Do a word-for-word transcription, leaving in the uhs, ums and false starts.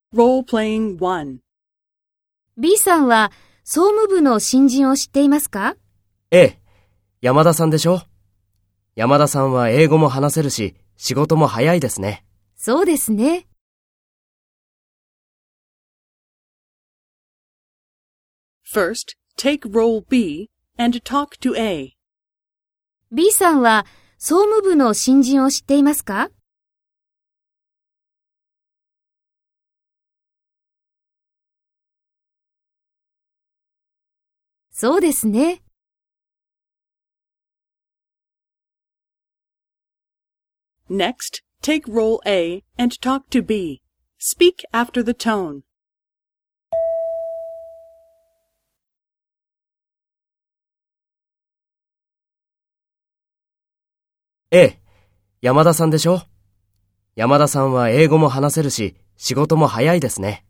Role-playing one. B さんは総務部の新人を知っていますか？ ええ、山田さんでしょ。山田さんは英語も話せるし、仕事も早いですね。 そうですね。 First, take role B and talk to A. B さんは総務部の新人を知っていますか？そうですね。 Next, take role A and talk to B. Speak after the tone. ええ、山田さんでしょ。山田さんは英語も話せるし、仕事も早いですね。